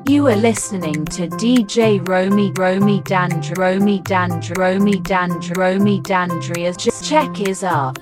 You are listening to DJ Romy Dandria. Just check his up.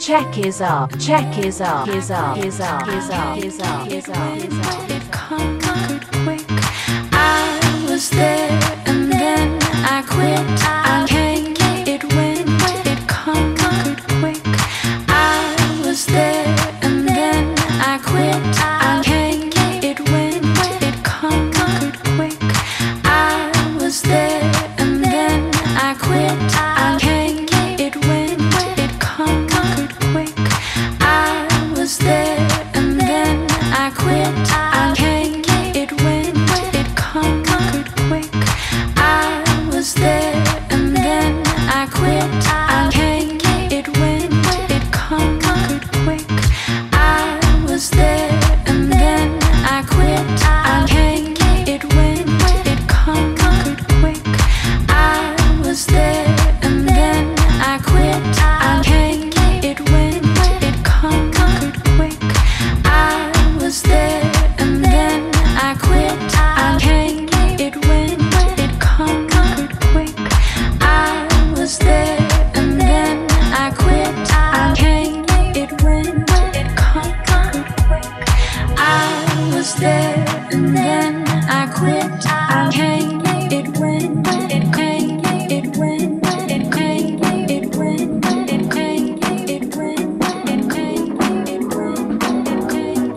It conquered quick. I was there and then I quit. I came, it went, it conquered quick. I was there and then I quit. I came, it went, it conquered quick. I was there and then I quit. I came, it went, it conquered quick. I was there and then I quit. I came, it went, it conquered quick. I was there and then I quit. I came, it went, it conquered quick. I was there and then I quit. I came, it went, it conquered quick. I was there and then I quit. I came, it went, it conquered quick. I was there and then I quit. I came, it went, it conquered quick. I was there and then I quit. I came, it went, it conquered quick. I was there and then I quit. I came, it went, it came, it went, it came, it went, it came, it went, it came, it went, it came,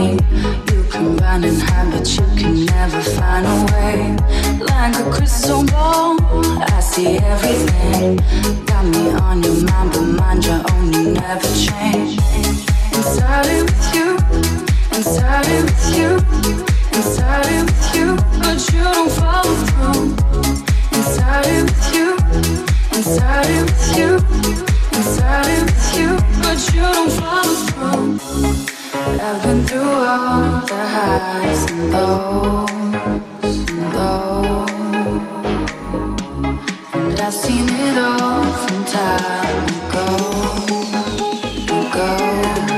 me. You can run and hide, but you can never find a way. Like a crystal ball, I see everything. Got me on your mind, but mind your own, you never change. And started with you, and started with you, and started with you, but you don't follow through. And started with you, and started with you, and started with you, but you don't follow through. I've been through all the highs and lows, and lows, and I've seen it all from time ago, ago.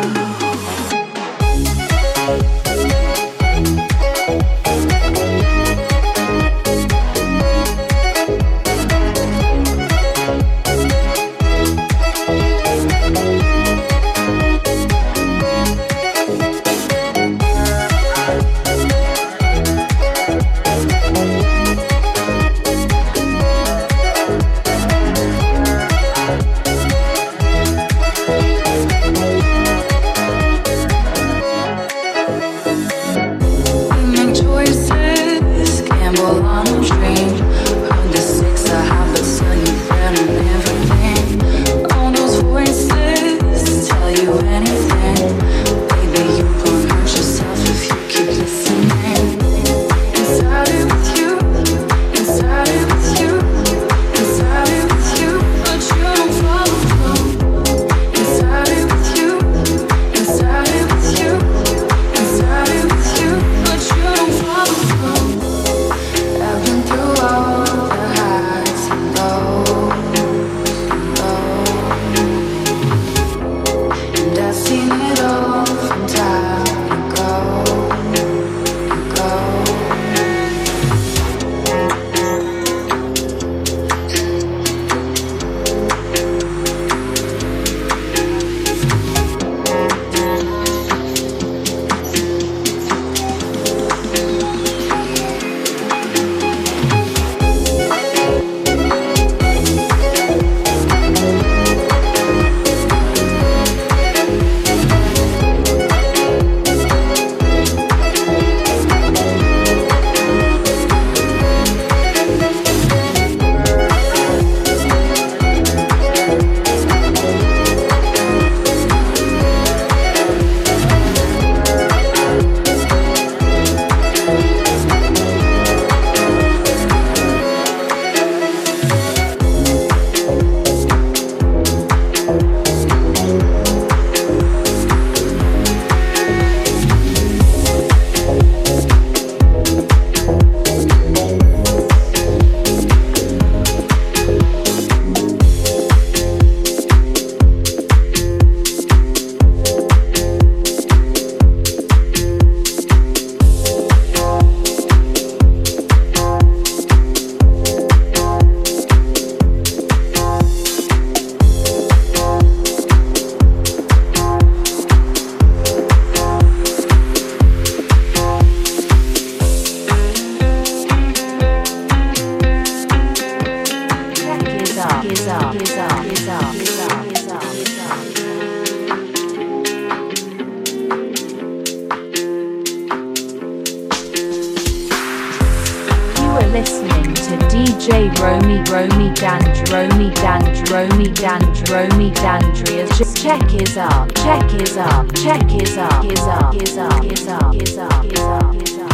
Check his art, check his art, check his art, his art, his art, his art, his art, his art, his art.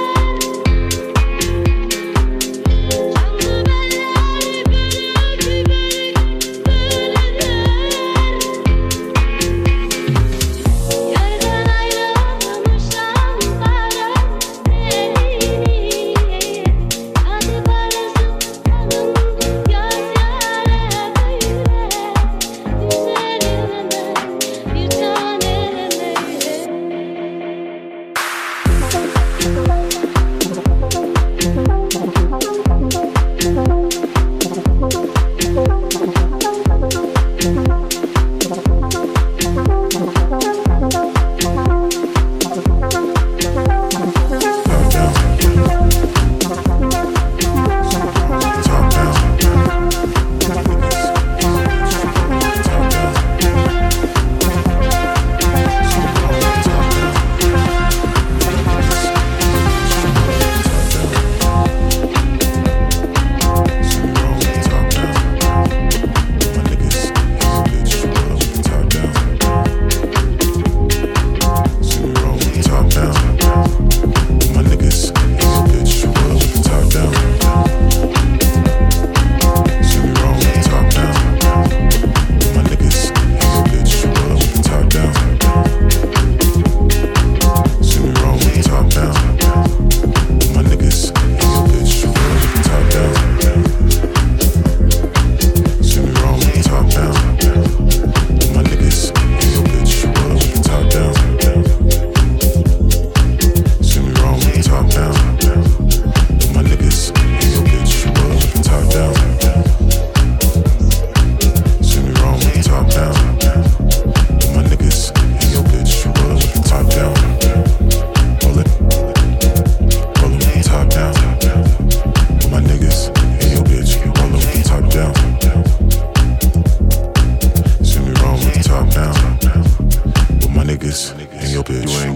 Keep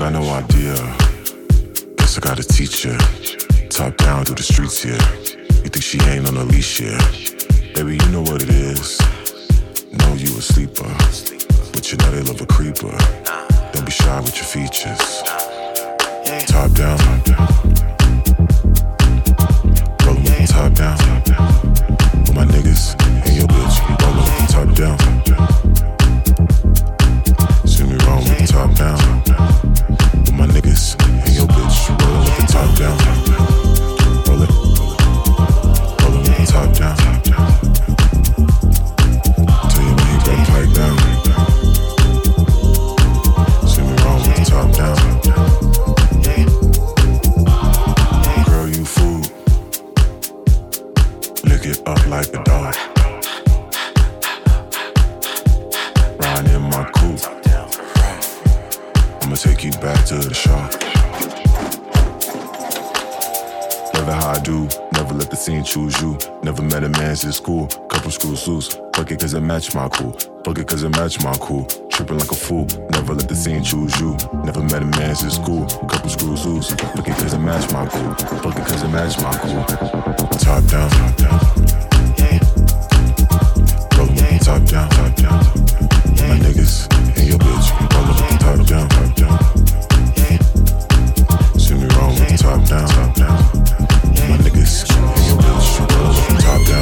got no idea. Guess I gotta teach ya. Top down through the streets here. You think she ain't on a leash here? Baby, you know what it is. Know you a sleeper, but you know they love a creeper. Don't be shy with your features. Top down, rollin' with the top down. With my niggas and your bitch, rollin' with the top down. See me rollin' with the top down. With my niggas and your bitch, rollin' with the top down. Rollin' with the top down. Tell you when you got pipe down. See me rollin' with the top down. Girl, you fool. Lick it up like a dog. Riding in my coupe. I'ma take you back to the shop. Never how I do. Never let the scene choose you. Never met a man since school. Couple screws loose. Fuck it cause it match my cool. Fuck it cause it match my cool. Tripping like a fool. Never let the scene choose you. Never met a man since school. Couple screws loose. Fuck it cause it match my cool. Fuck it cause it match my cool. Top down. Rollin' with the top down. My niggas and your bitch. Rollin' with the top down. See me rollin' with the top down. My niggas and your bitch. Rollin' with the top down.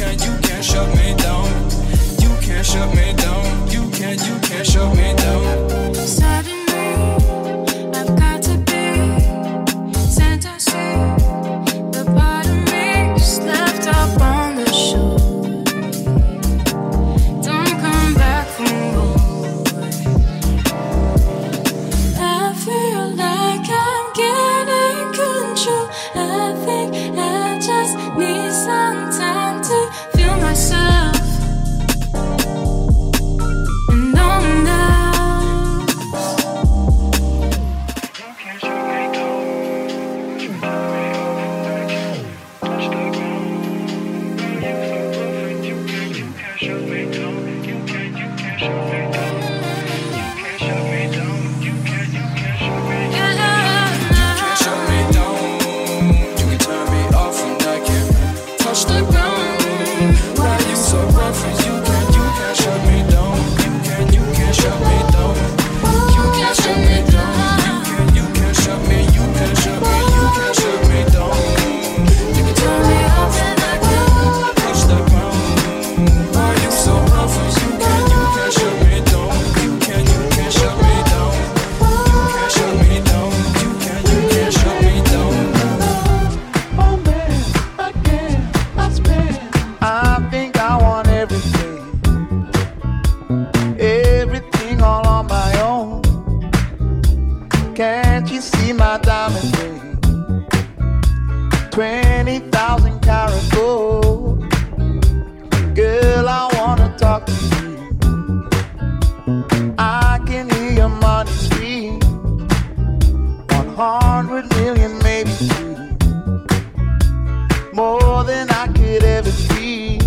Shut me down. You can't shut me down. Can't you see my diamond ring? 20,000 karat gold. Girl, I wanna talk to you. I can hear your money scream. 100 million, maybe two. More than I could ever dream.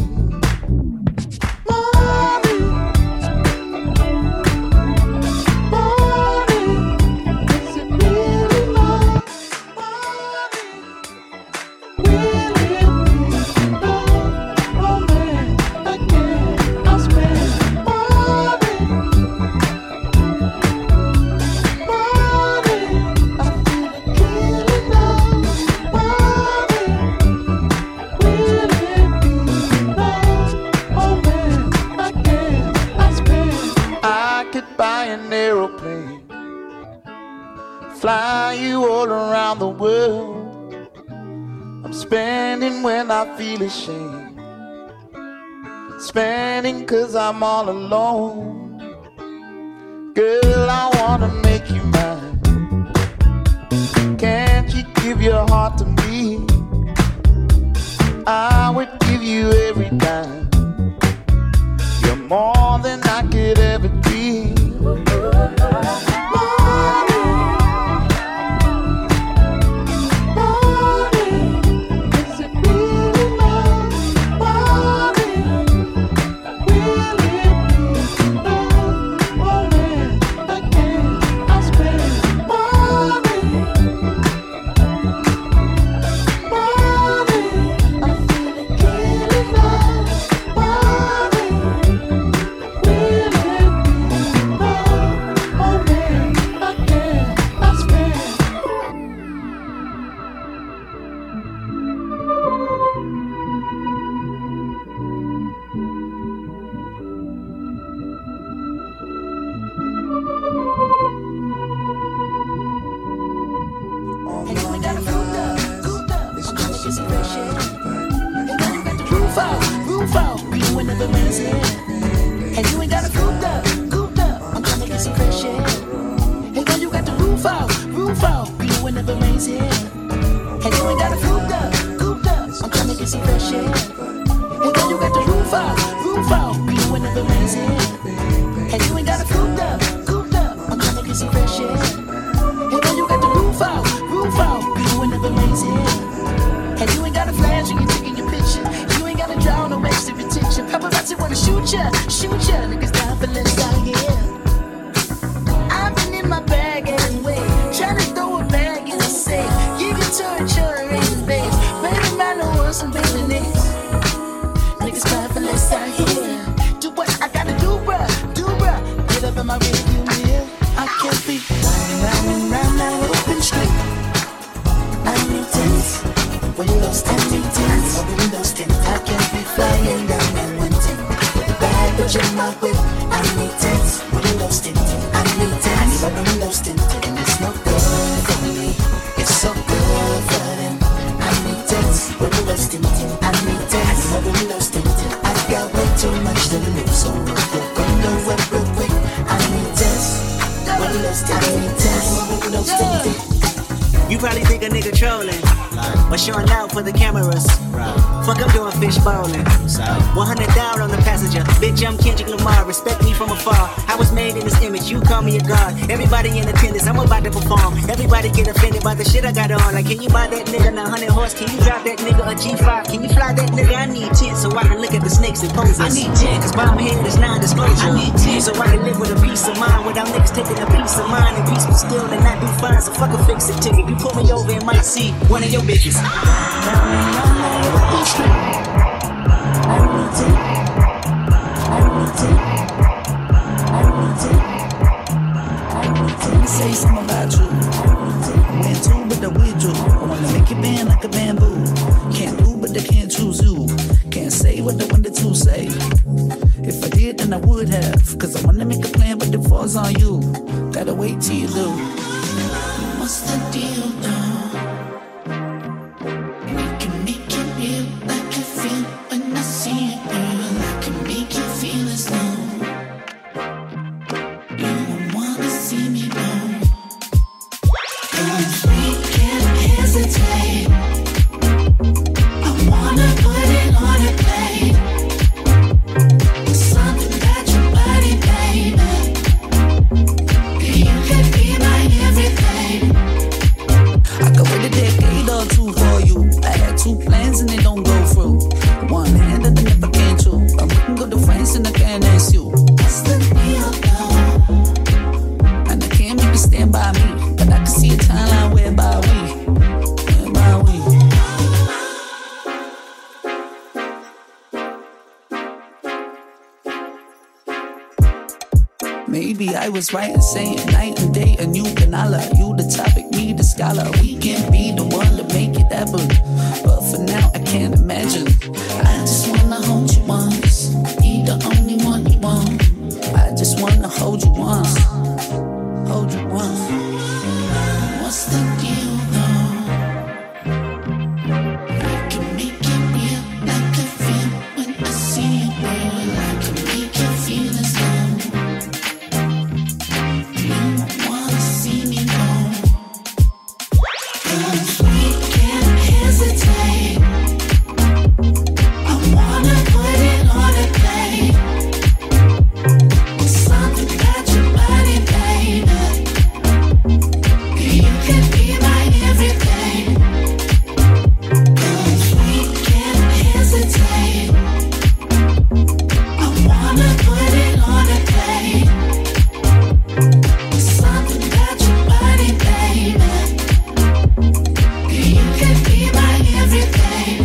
Fly you all around the world. I'm spending when I feel ashamed. Spending 'cause I'm all alone. Girl, I wanna make you mine. Can't you give your heart to me? I would give you every dime. You're more than I could ever dream. You probably think a nigga trolling, but showing out for the cameras. Fuck, I'm doing fish bowling. 100 down on the passenger. Bitch, I'm Kendrick Lamar. Respect me from afar. I was made in this image. You call me a god. Everybody in attendance. I'm about to perform. Everybody get offended by the shit I got on. Like, can you buy that nigga 900 horse? Can you drive that nigga a G5? Can you fly that nigga? I need 10 so I can look at the snakes and poses. I need 10 'cause bomb head is non-disclosure. I need 10 so I can live with a peace of mind without niggas taking a piece of mind and peaceful still and not do fine. So fuck a fix-it ticket. You pull me over and might see one of your bitches. Say something about you. Went to, but the with you. I wanna make it bend like a bamboo. Can't do, but they can't choose you. Can't say what they wanted to say. If I did, then I would have. 'Cause I wanna make a plan, but it falls on you. Gotta wait till you do. What's the deal now? We can make it real like I feel when I see it, girl. I can make you feel as though you don't wanna see me go. maybe I was right in saying night and day and you and I love you, the topic, me, the scholar. We can be the one to make it happen, but for now I can't imagine. I just wanna hold you once, be the only one you want. I just wanna hold you once, hold you once. What's the deal though? I can make it real, I can feel when I see you, girl. I can make you feel as though you wanna see me go. 'Cause we can't hesitate. I wanna put it on a plate. Something about your body, baby. You can be my everything. 'Cause we can't hesitate. I wanna put it on a plate. Something about your body, baby. You can be my everything.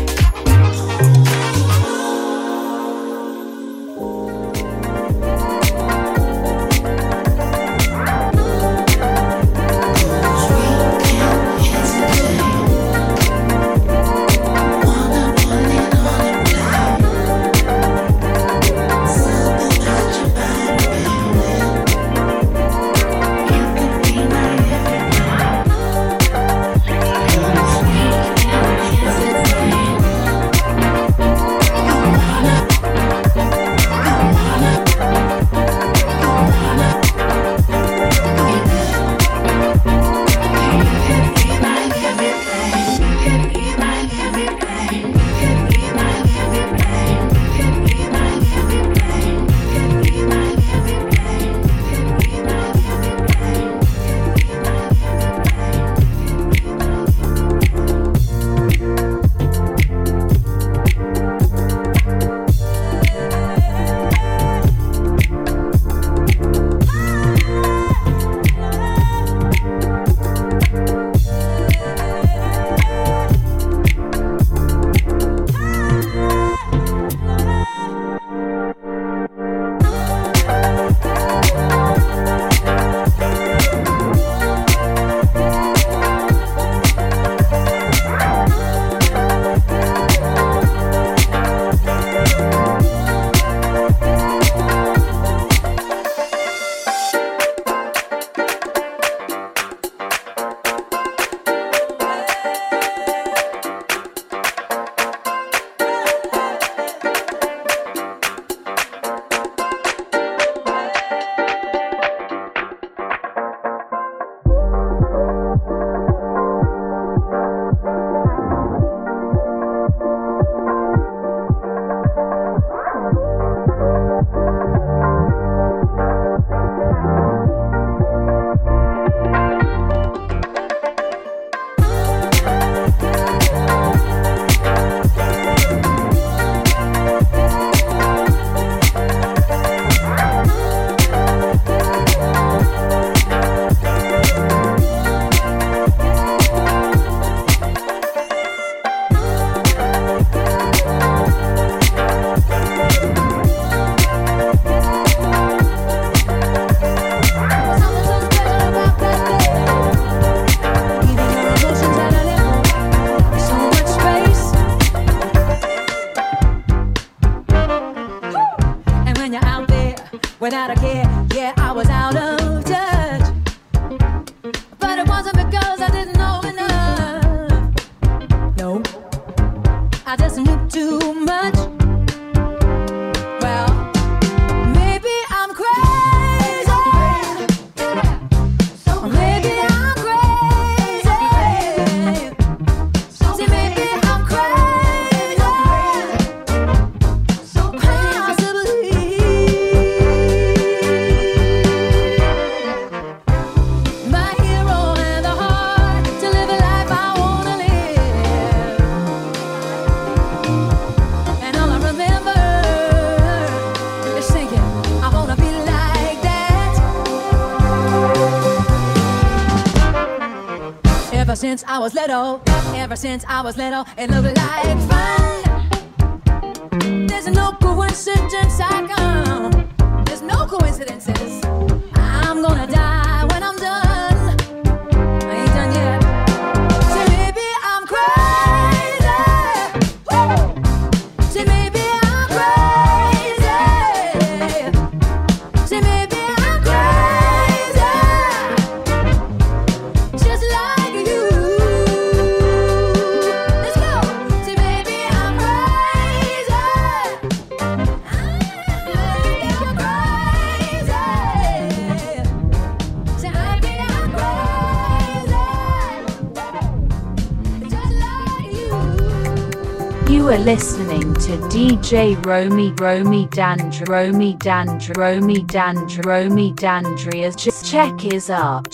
Without a care, yeah, I was out of touch. But it wasn't because I didn't know enough. No, I just knew too much. Well, maybe I'm crazy. Maybe I'm crazy. See, maybe I'm crazy. Possibly. My hero and the heart to live a life I wanna live. And all I remember is thinking I wanna be like that. Ever since I was little, it looked like fun. There's no coincidence, there's no coincidences. gonna die when I'm done. I ain't done yet. Say maybe I'm crazy. Woo! Say maybe I'm crazy. Say maybe I'm crazy. Just like you. Let's go. Say maybe I'm crazy. I think you're crazy. Say maybe I'm crazy. Just like you. You are listening to DJ Romy Dandria's check is up.